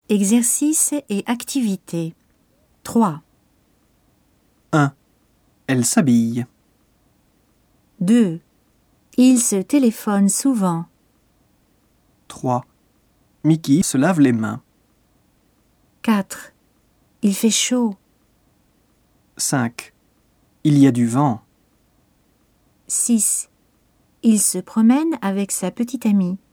Exercice et activité. 3. 1. Elle s'habille. 2. Il se téléphone souvent. 3. Mickey se lave les mains. 4. Il fait chaud. 5. Il y a du vent. 6. Il se promène avec sa petite amie.